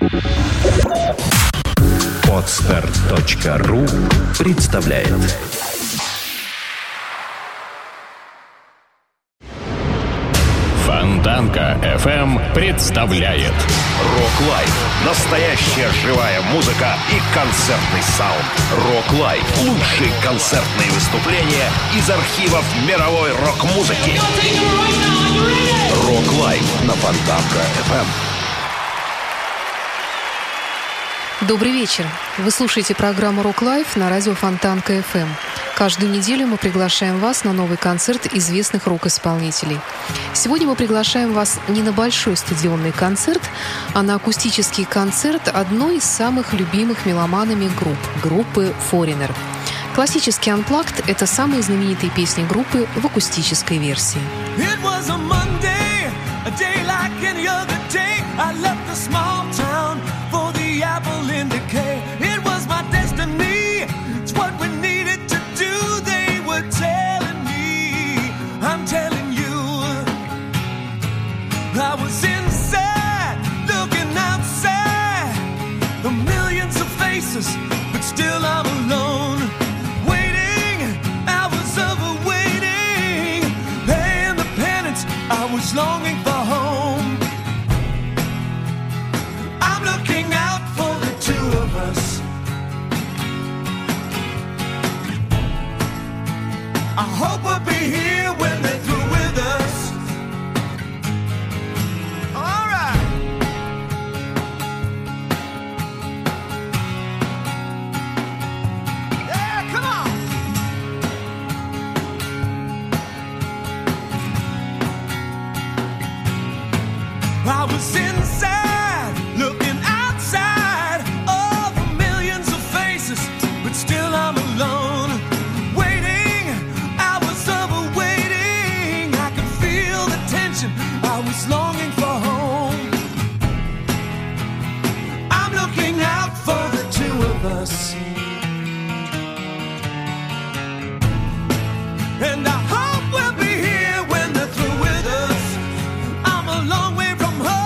Podster.ru представляет. Фонтанка FM представляет Рок Лайв. Настоящая живая музыка и концертный саунд. Рок Лайв. Лучшие концертные выступления из архивов мировой рок-музыки. Рок Лайв на Фонтанка FM. Добрый вечер. Вы слушаете программу «Рок Лайв» на радио Фонтанка FM. Каждую неделю мы приглашаем вас на новый концерт известных рок-исполнителей. Сегодня мы приглашаем вас не на большой стадионный концерт, а на акустический концерт одной из самых любимых меломанами группы Foreigner. Классический Unplugged — это самые знаменитые песни группы в акустической версии. Apple in decay. It was my destiny. It's what we needed to do. They were telling me, I'm telling you, I was inside, looking outside, the millions of faces, but still I'm alone, waiting, hours of waiting, paying the penance. I was longing for home. I'm looking out for the two of us. I hope we'll be here when they're through with us. All right. Yeah, come on. I was inside, looking outside, all the millions of faces, but still I'm alone, waiting, hours of waiting. I could feel the tension, I was longing for home. I'm looking out for the two of us, and I hope we'll be here when they're through with us. I'm a long way from home.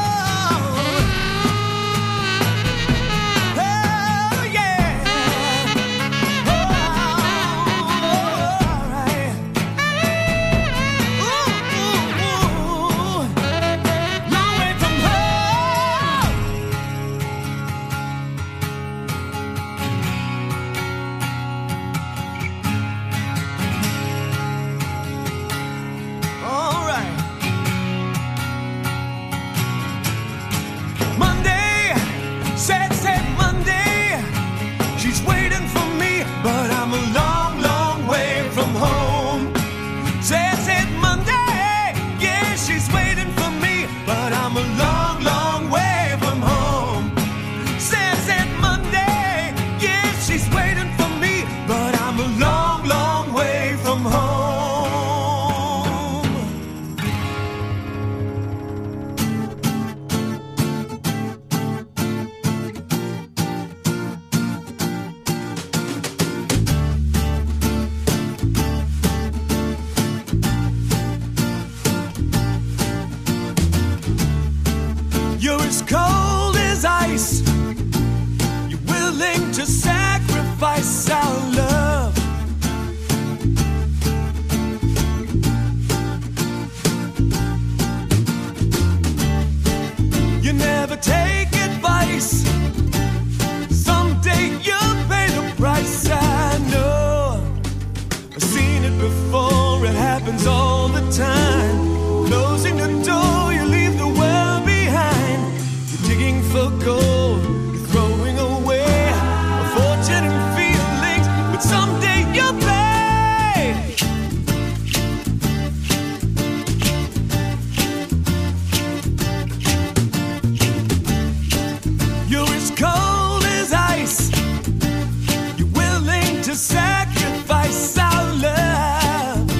You're as cold as ice. You're willing to sacrifice our love. You never take advice. Someday you'll pay the price. I know. I've seen it before. It happens all the time. Closing the door, you leave the world behind. You're digging for gold, you're throwing away a fortune and feelings, but someday you'll pay. You're as cold as ice. You're willing to sacrifice our love.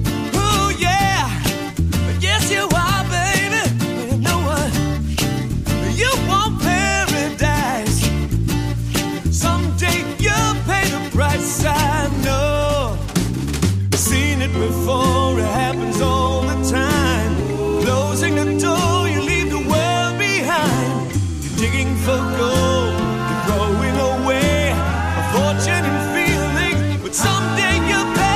Ooh, yeah. Yes, you are, baby. No one for gold. You're throwing away a fortune and feeling, but someday you'll pay.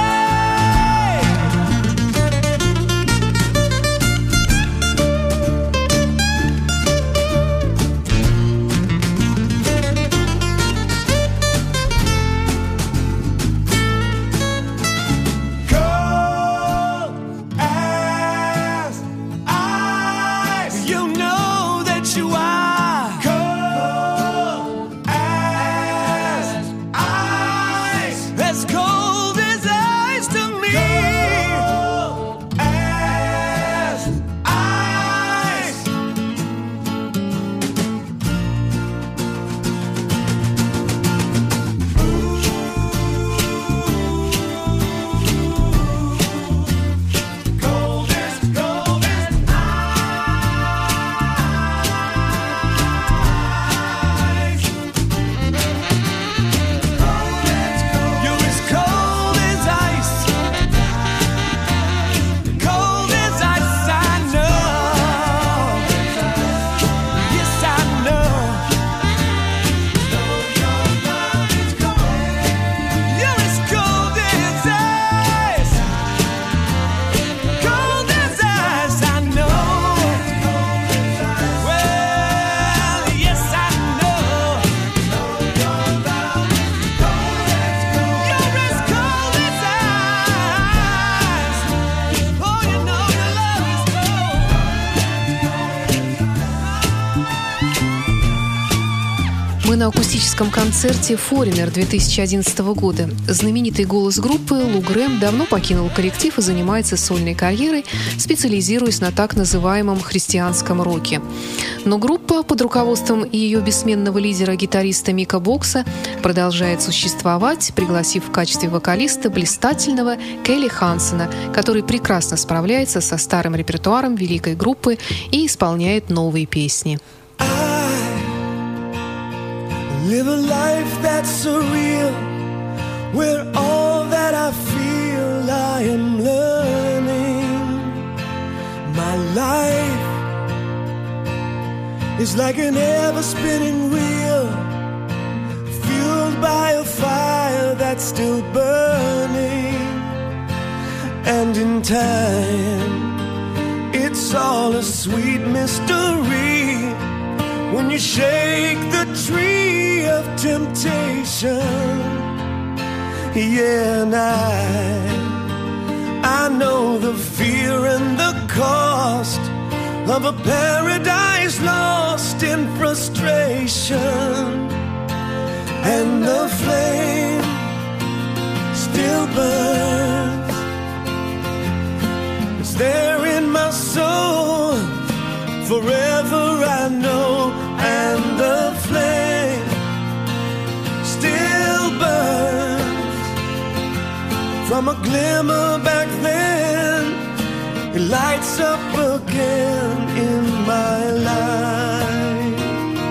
На акустическом концерте Foreigner 2011 года. Знаменитый голос группы Лу Грэм давно покинул коллектив и занимается сольной карьерой, специализируясь на так называемом христианском роке. Но группа под руководством ее бессменного лидера-гитариста Мика Бокса продолжает существовать, пригласив в качестве вокалиста блистательного Келли Хансена, который прекрасно справляется со старым репертуаром великой группы и исполняет новые песни. Live a life that's surreal, where all that I feel I am learning. My life is like an ever-spinning wheel, fueled by a fire that's still burning. And in time, it's all a sweet mystery when you shake the tree of temptation. Yeah, and I know the fear and the cost of a paradise lost in frustration. And the flame still burns. It's there in my soul, forever I know. And the flame still burns. From a glimmer back then, it lights up again in my life.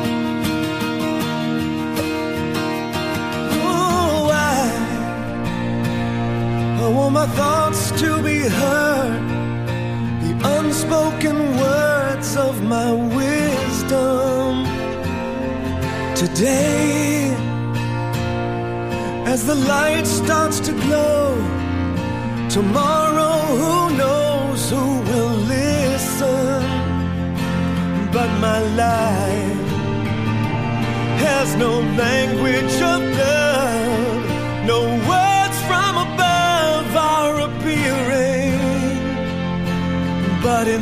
Oh, I want my thoughts to be heard, the unspoken words of my wisdom. Today, as the light starts to glow, tomorrow who knows who will listen. But my life has no language of love, no words from above are appearing. But in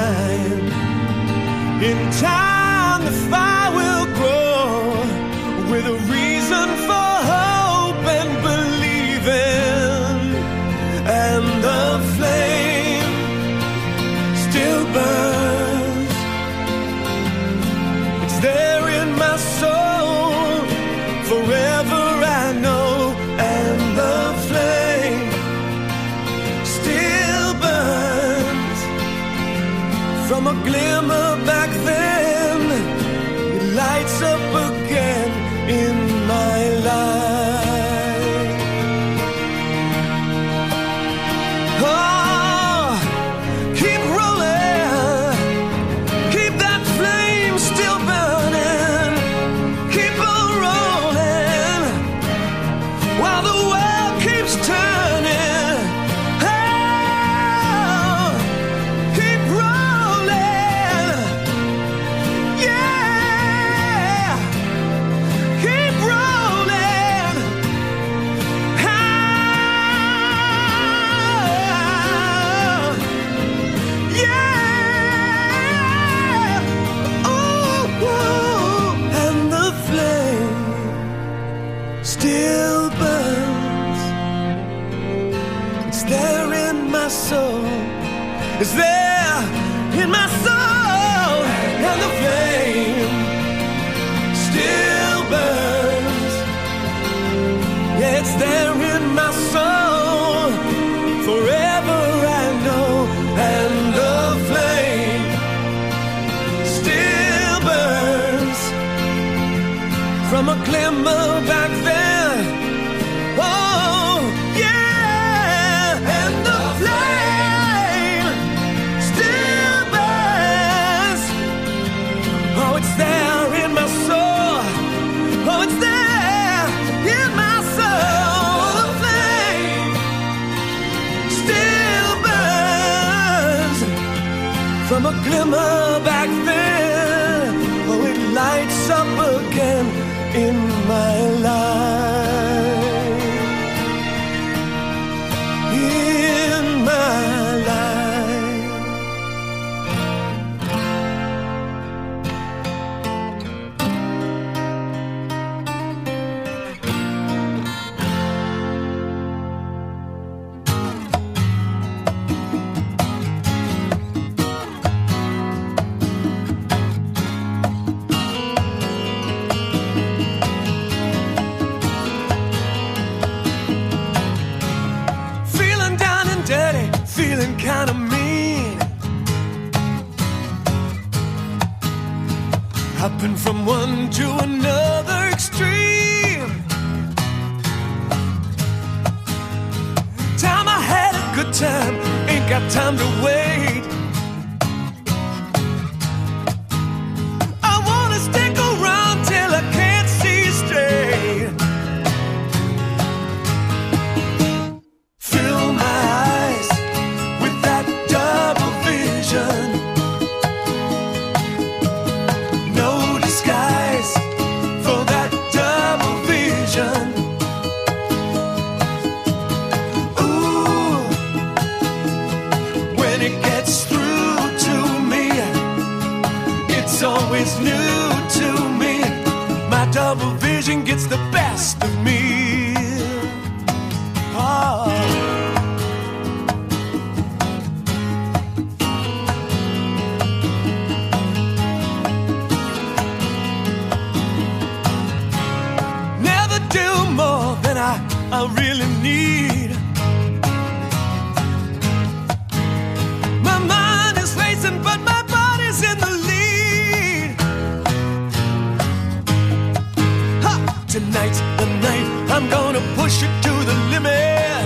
time the fire will grow with a reason for hope and believing. And the flame still burns. It's there in my soul, forever I know. And the flame still burns. From a glimmer back then, it lights up again in my life. Oh, keep rolling, keep that flame still burning. is there in my soul, and the flame still burns. Yeah, it's there in my soul, forever I know, and the flame still burns from a glimmer back then. Oh, yeah, and the flame still burns. Oh, it's there in my soul. Oh, it's there in my soul. The flame still burns from a glimmer back then. Oh, it lights up again in my life. In my life. Feeling down and dirty, feeling kind of mean. Hopping from one to another extreme. Time I had a good time, ain't got time to wait. I wanna stick around till I can't see straight. Fill my eyes with that double vision. No disguise for that double vision. Ooh, when it gets through to me, it's always new to me. My double vision gets the best of me. Oh. Never do more than I really need. My mind is racing, but my body's in the lead. Ha! Tonight's the night I'm gonna push it to the limit.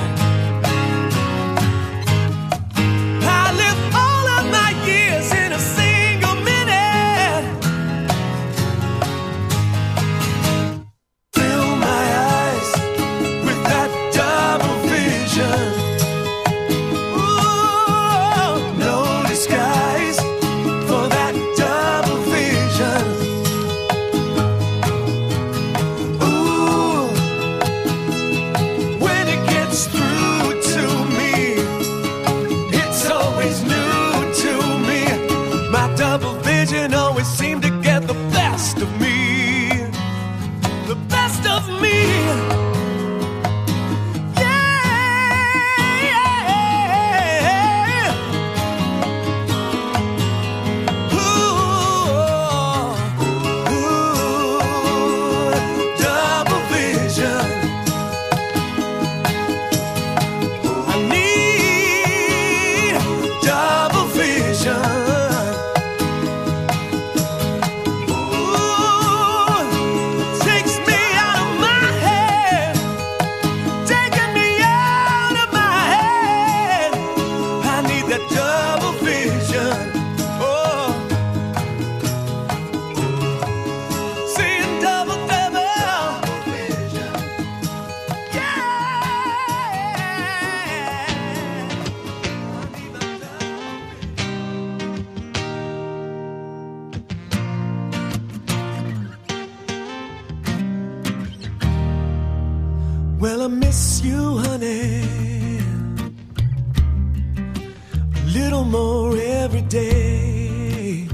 I live all of my years in a single minute. Fill my eyes with that double vision. Ooh, no disguise for that double vision. Ooh, when it gets through to me, it's always new to me. My double vision always seemed to get the best of me. The best of me. Yeah, yeah. Ooh, ooh, double vision. I need double vision. Ooh, takes me out of my head, taking me out of my head. I need that double vision. Oh, seeing double vision. Yeah. Well, I miss you, honey, a little more every day.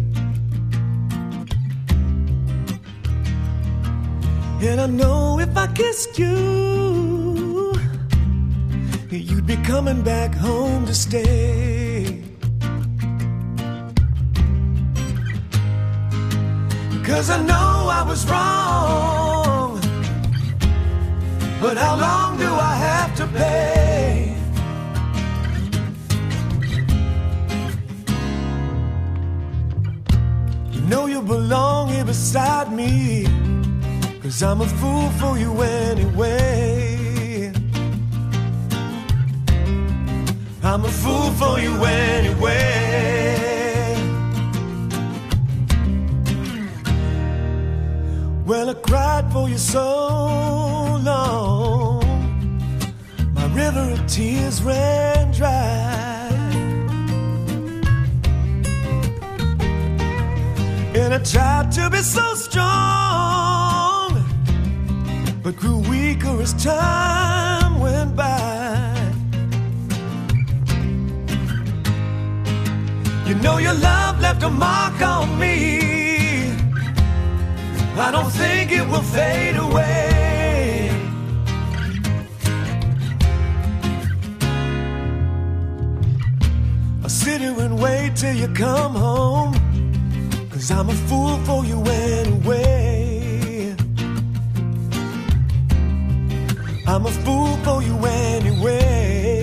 And I know if I kissed you, you'd be coming back home to stay. 'cause I know I was wrong. But how long do I have to pay? You know you belong here beside me, 'cause I'm a fool for you anyway. I'm a fool for you anyway. Well, I cried for you so long, my river of tears ran dry. And I tried to be so strong, but grew weaker as time went by. You know your love left a mark on me. I don't think it will fade away. I'll sit here and wait till you come home, 'cause I'm a fool for you anyway. I'm a fool for you anyway.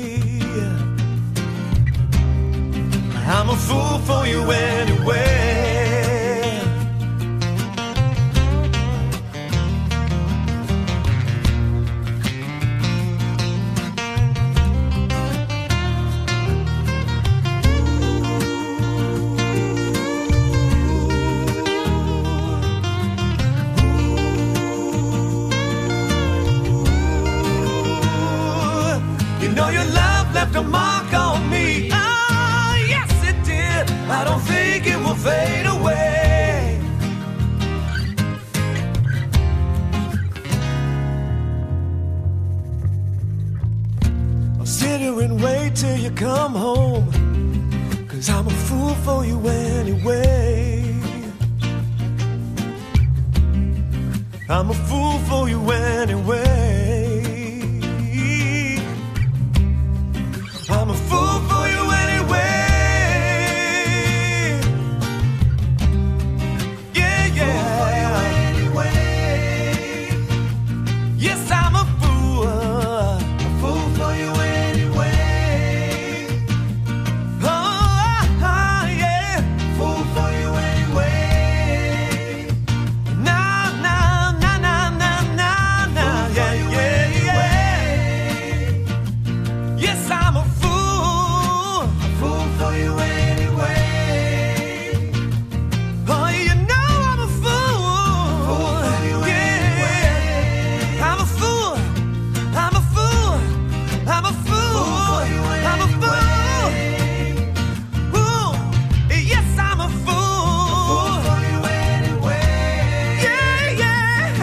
I'm a fool for you anyway. You know your love left a mark on me. Oh, yes it did. I don't think it will fade away. I'll sit here and wait till you come home, 'cause I'm a fool for you anyway. I'm a fool for you anyway. I'm a fool for you anyway. Yeah, yeah. Fool for you anyway. Yes, I'm a fool. A fool for you anyway. Oh, yeah. Fool for you anyway. Nah, nah, nah, nah, nah, nah, nah. Yeah, yeah, yeah. Yes, I'm a fool for you anyway. Oh, you know I'm a fool for you anyway. I'm a fool, I'm a fool, I'm a fool, I'm a fool. Ooh, yes, I'm a fool for you anyway. Yeah, yeah,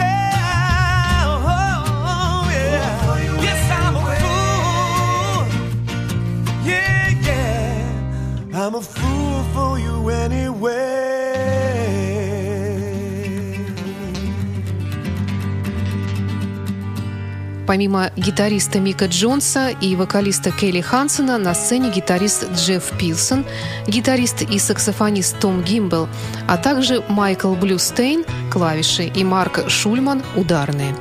oh, yeah. Yes, I'm a fool. Yeah, yeah, I'm a fool for you anyway. Помимо гитариста Мика Джонса и вокалиста Келли Хансена, на сцене гитарист Джефф Пилсон, гитарист и саксофонист Том Гимбл, а также Майкл Блюстейн – клавиши и Марк Шульман – ударные.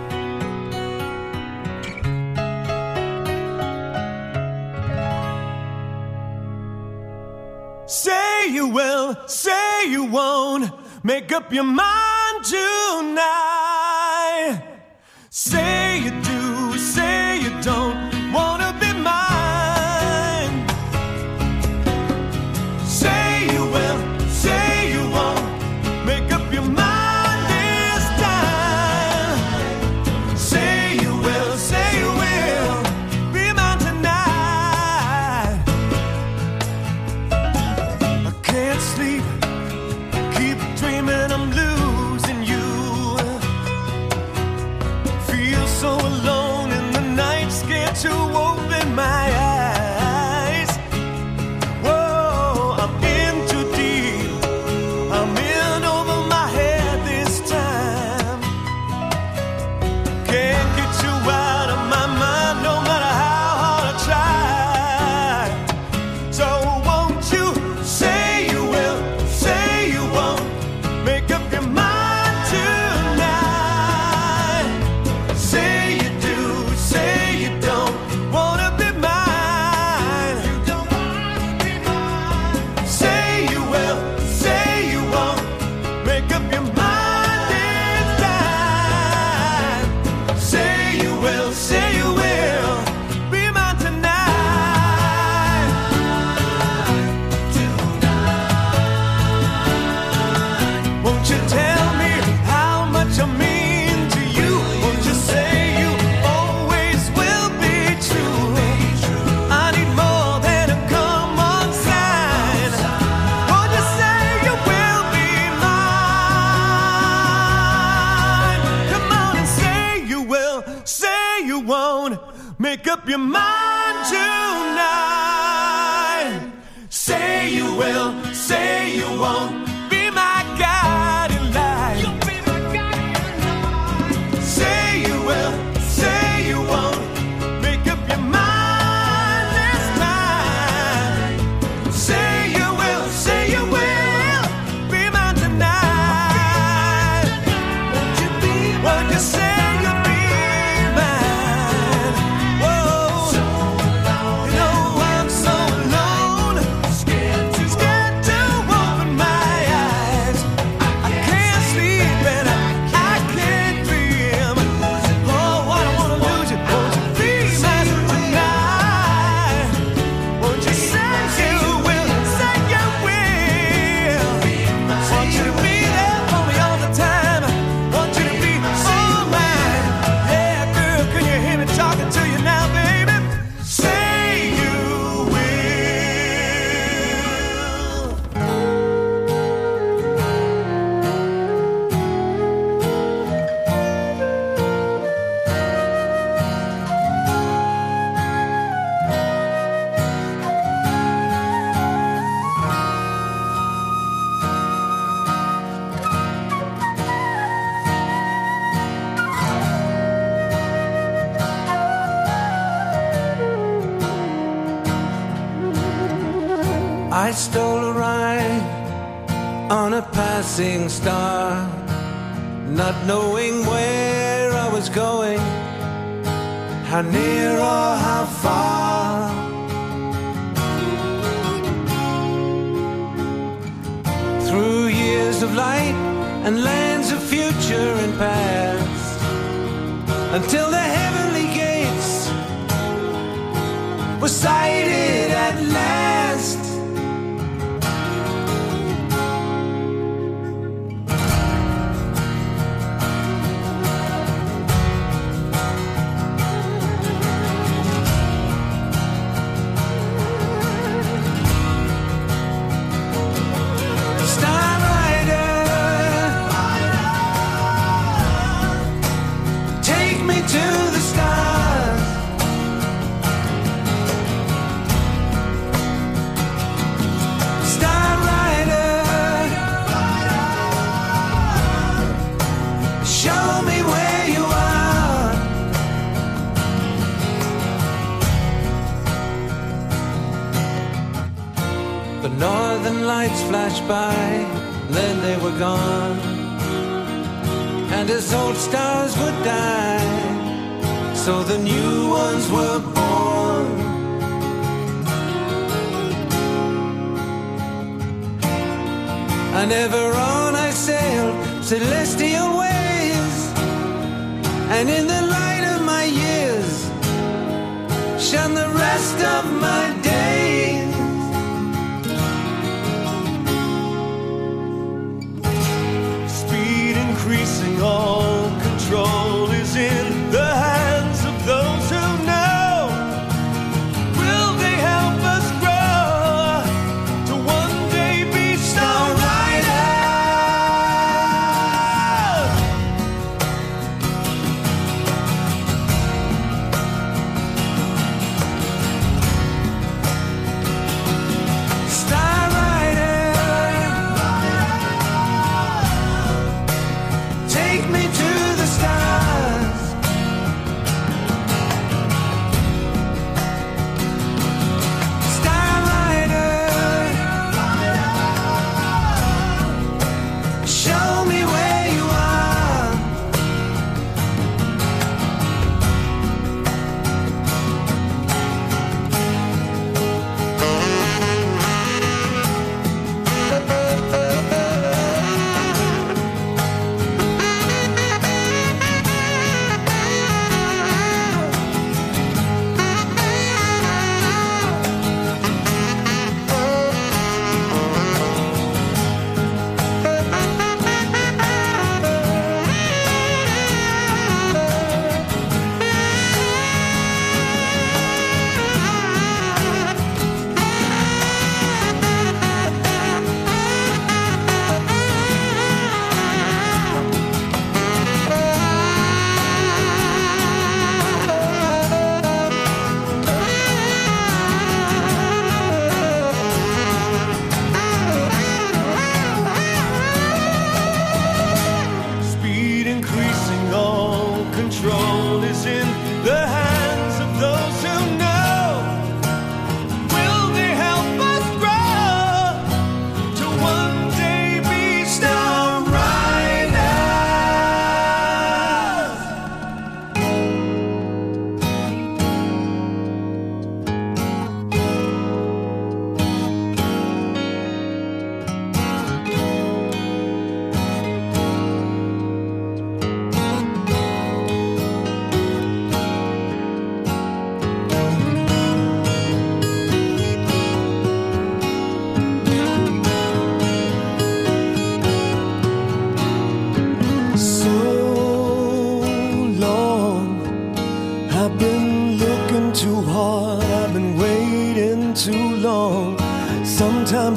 Say you will, say you won't, make up your mind tonight. Say you do, say you don't wanna be mine. Say you will, say you won't, make up your mind this time. Say you will, say you will, be mine tonight. I can't sleep, keep dreaming I'm losing you. Feel so alone. Make up your mind tonight. Say you will, say you won't. Be my guiding light. You'll be my guiding light. Say you will, say you won't. Make up your mind this time. Say you will, say you will. Be mine tonight. Won't you be mine? Won't you say? I stole a ride on a passing star, not knowing where I was going, how near or how far. Through years of light and lands of future and past, until the heavenly gates were sighted at last. Flashed by, then they were gone. And as old stars would die, so the new ones were born. And ever on I sailed celestial ways, and in the light of my years shone the rest of my days. Increasing, all control is in the hands of those who know. Will they help us grow to one day be star riders?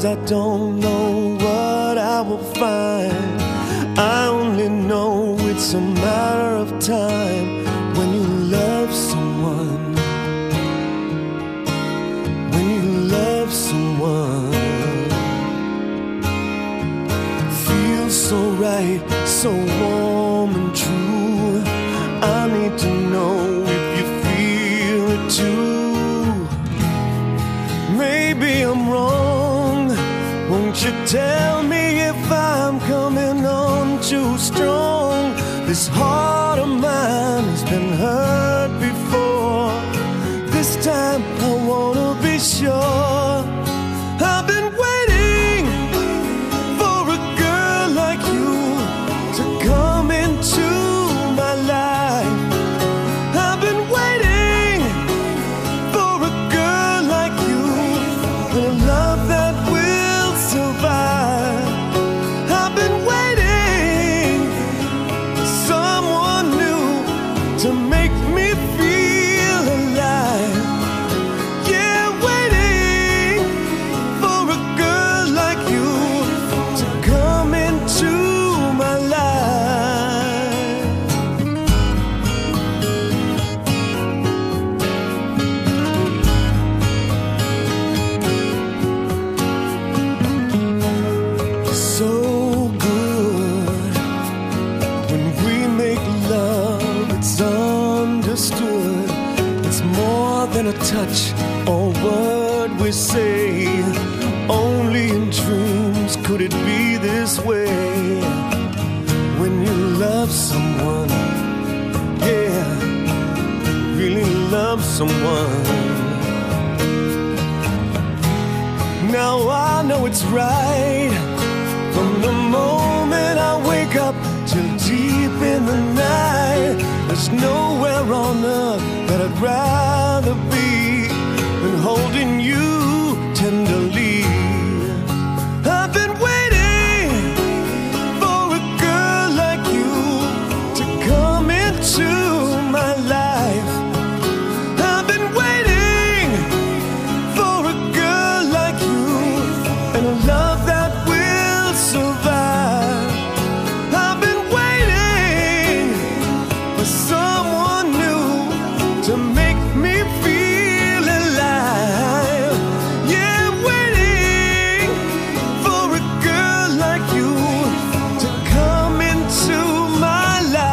I don't know what I will find. I only know it's a matter of time when you love someone. When you love someone, feels so right, so warm and true. I need to know if you feel it too. Maybe I'm wrong. Won't you tell me if I'm coming on too strong? This heart of mine has been hurt before. This time I wanna be sure. I've been waiting for a girl like you to come into my life. I've been waiting for a girl like you, and a love that will survive. I've been waiting for someone new to make me feel alive. Yeah, waiting for a girl like you to come into my life. So good when we make love, it's understood. It's more than a touch or word we say. Only in dreams could it be this way. When you love someone, yeah, really love someone. Now I know it's right from the moment I wake up till deep in the night. There's nowhere on earth that I'd rather be than holding you tenderly. I've been waiting for a girl like you to come into my life. I've been waiting for a girl like you, and a love that will survive. I've been waiting for someone new to make me feel alive. Yeah, waiting for a girl like you to come into my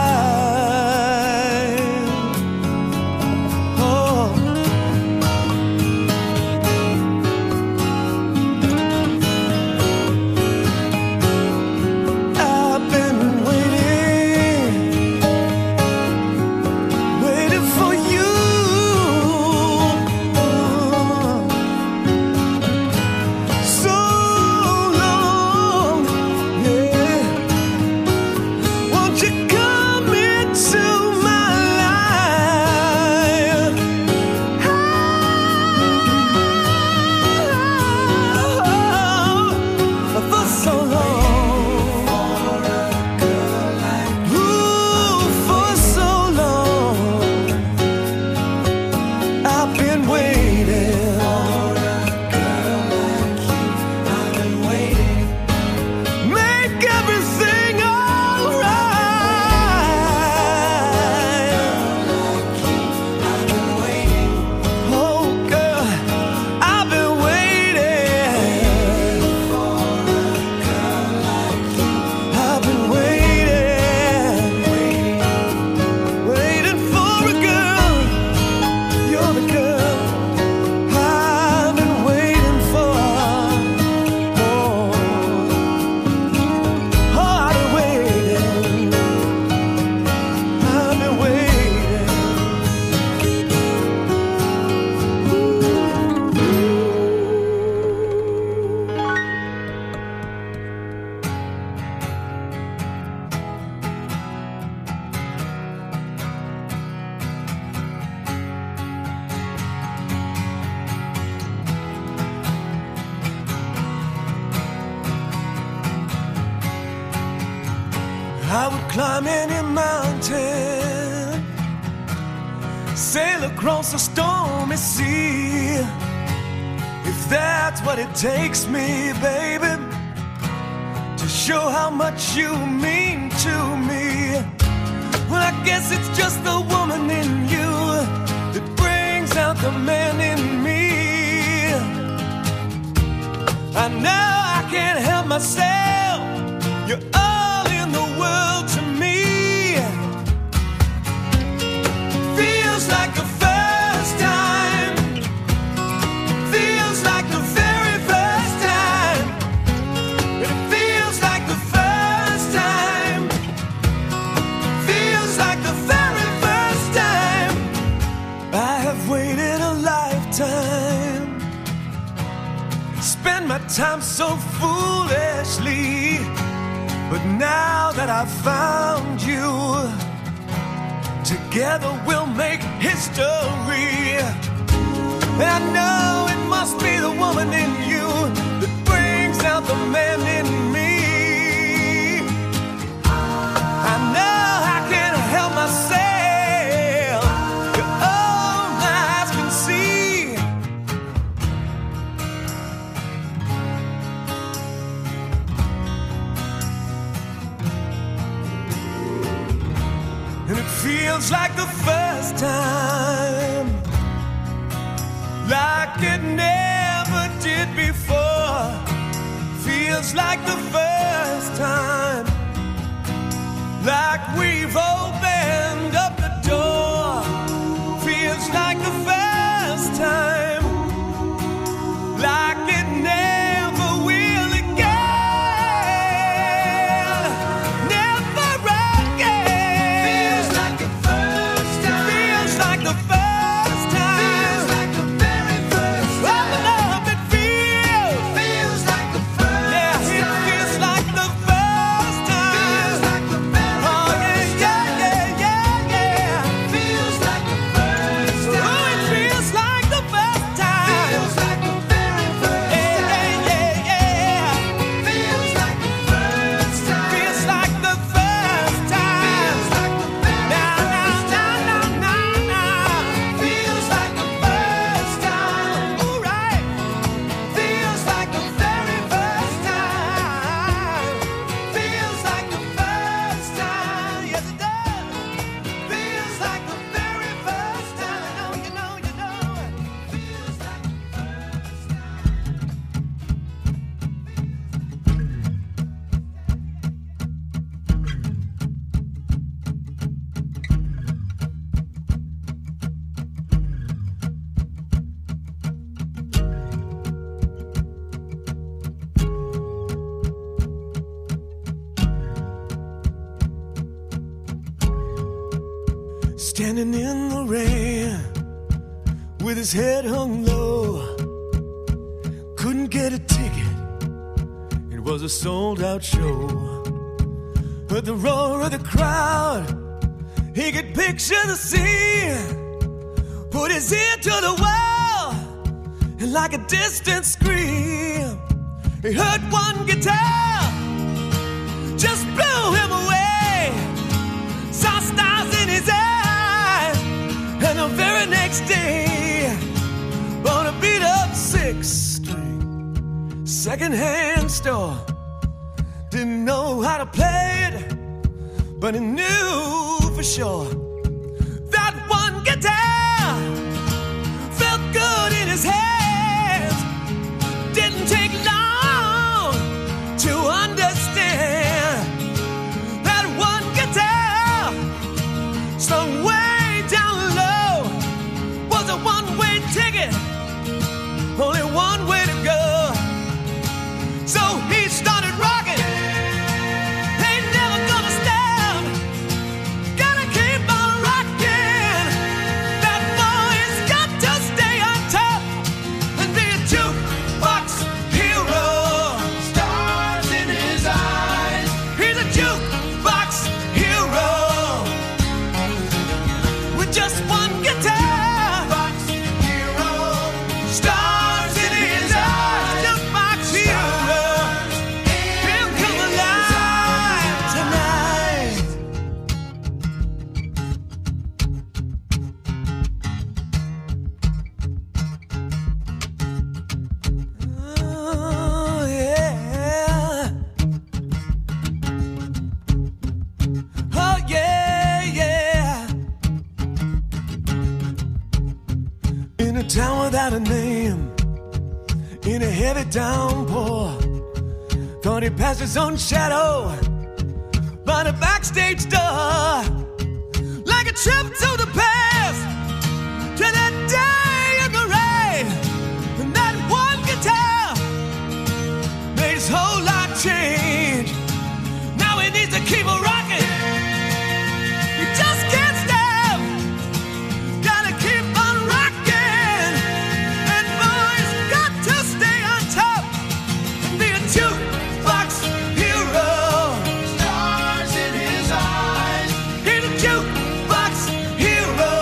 life. Oh. I've been waiting for you. So long, yeah. Won't you come into my life? For so long, ooh, for so long, I've been waiting for a girl like you. I've been waiting. Make everything alright. I've been waiting. Oh, girl, I've been waiting for a girl like you. I've been waiting, waiting for a girl. You're the girl I've been waiting for. Oh, I've been waiting. I've been waiting. I would climb any mountain, sail across a stormy sea. If that's what it takes me, baby, to show how much you mean to me. Well, I guess it's just the woman in you that brings out the man in me. I know I can't help myself. You're all in the world to me. Feels like the first time. Feels like the very first time. It feels like the first time. Feels like the very first time. I have waited a lifetime, spend my time so foolishly, but now that I've found you, together we'll make history. And I know it must be the woman in you that brings out the man in me. I know I can't help myself. All my eyes can see. And it feels like the first time, like it never did before. Feels like the first time, like we've opened up the door. Feels like the first time, like it never will again. Never again. Feels like the first time. Feels like the first time. Feels like the very first time. Oh, love, it feels. Feels like the first time. Yeah, it feels like the first time. Feels like the very first time. Oh, yeah, yeah, yeah, yeah. Feels like the first time. Oh, it feels like the first time. Feels like the very first time. Yeah, yeah, yeah. Feels like the first time. Feels like the first time. Feels like the very first time. Nah. Feels like the first time. All right. Feels like the very first time. Feels like the first time. Yes, it does. Feels like the very first time. You know. Feels like the first time. Standing in the rain with his head hung low, couldn't get a ticket, it was a sold-out show. Heard the roar of the crowd, he could picture the scene, put his ear to the wall, and like a distant scream, he heard one guitar, just blew him away, saw stars in his eyes, and the very next day, on a beat-up 6-string second-hand store, didn't know how to play it, but he knew for sure that one guitar felt good in his hands. Didn't take long to understand that one guitar sung way down low was a one-way ticket, only one way to go. So he started rocking, ain't never gonna stop, gotta keep on a town without a name, in a heavy downpour. Thought he passed his own shadow by the backstage door. Like a trip to the past, to that day in the rain. And that one guitar made his whole life change. Now he needs to keep on rocking. You just can't stop. Gotta keep on rocking. And boys got to stay on top. Be a jukebox hero. Stars in his eyes. He's a jukebox hero.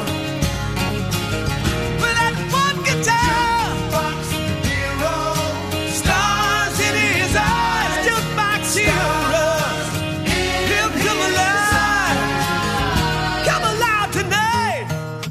With that one guitar. Jukebox hero. Stars in his eyes. Jukebox hero. He'll come alive. Come alive tonight.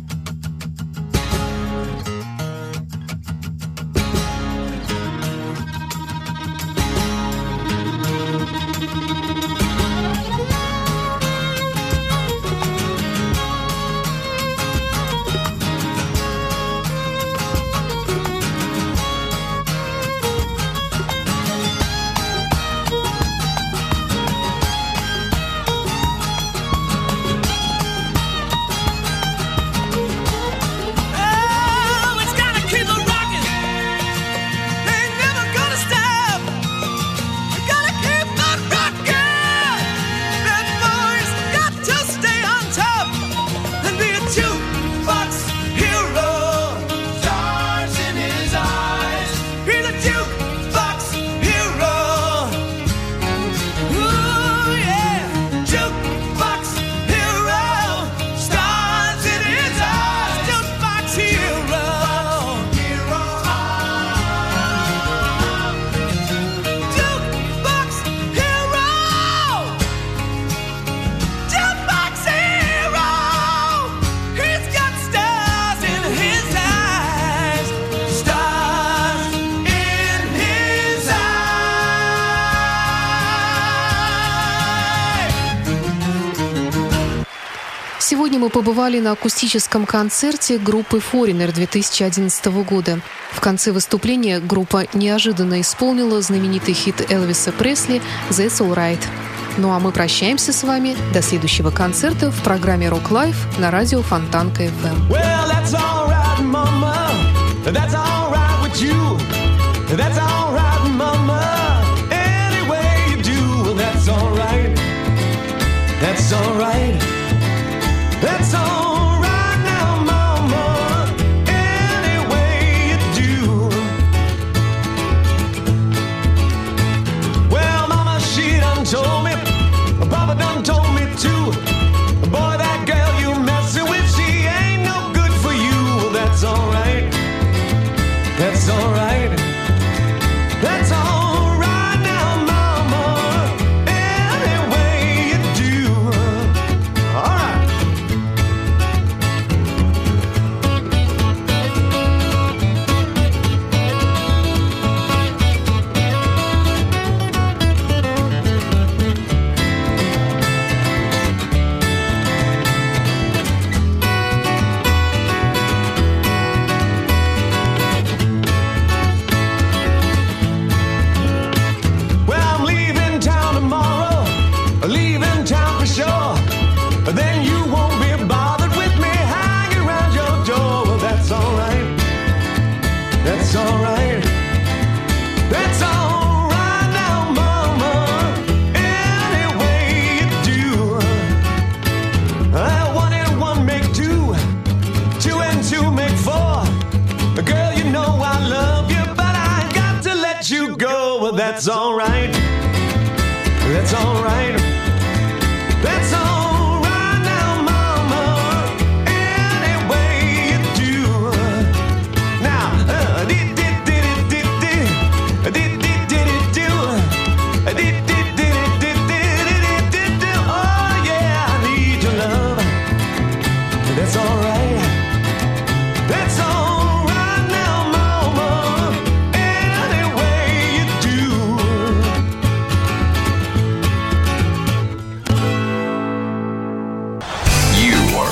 Oh, it's gotta keep on rocking. Ain't never gonna stop. Gotta keep on rocking. That boy's got to stay on top and be a jukebox hero. Stars in his eyes. He's a jukebox hero. Ooh yeah, jukebox hero. Stars in his eyes. Jukebox hero. Jukebox hero. Jukebox hero. He's got stars in his eyes. Stars in his eyes. Сегодня мы побывали на акустическом концерте группы Foreigner 2011 года. В конце выступления группа неожиданно исполнила знаменитый хит Элвиса Пресли «That's All Right». Ну а мы прощаемся с вами до следующего концерта в программе Rock Life на радио Фонтанка FM. Well, that's all right, mama. That's all right with you. That's all right, mama. Any way you do, that's all right. That's all right. That's all right now, mama. Any way you do. Well, mama, she done told me. Papa done told me too. Boy, that girl you messing with, she ain't no good for you. Well, that's all right. That's all right. That's all right now, mama. Any way you do. All right.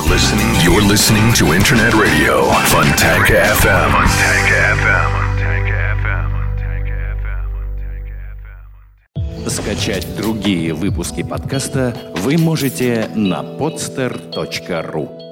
You're listening to Internet Radio Fontanka FM. Скачать другие выпуски подкаста вы можете на podster.ru.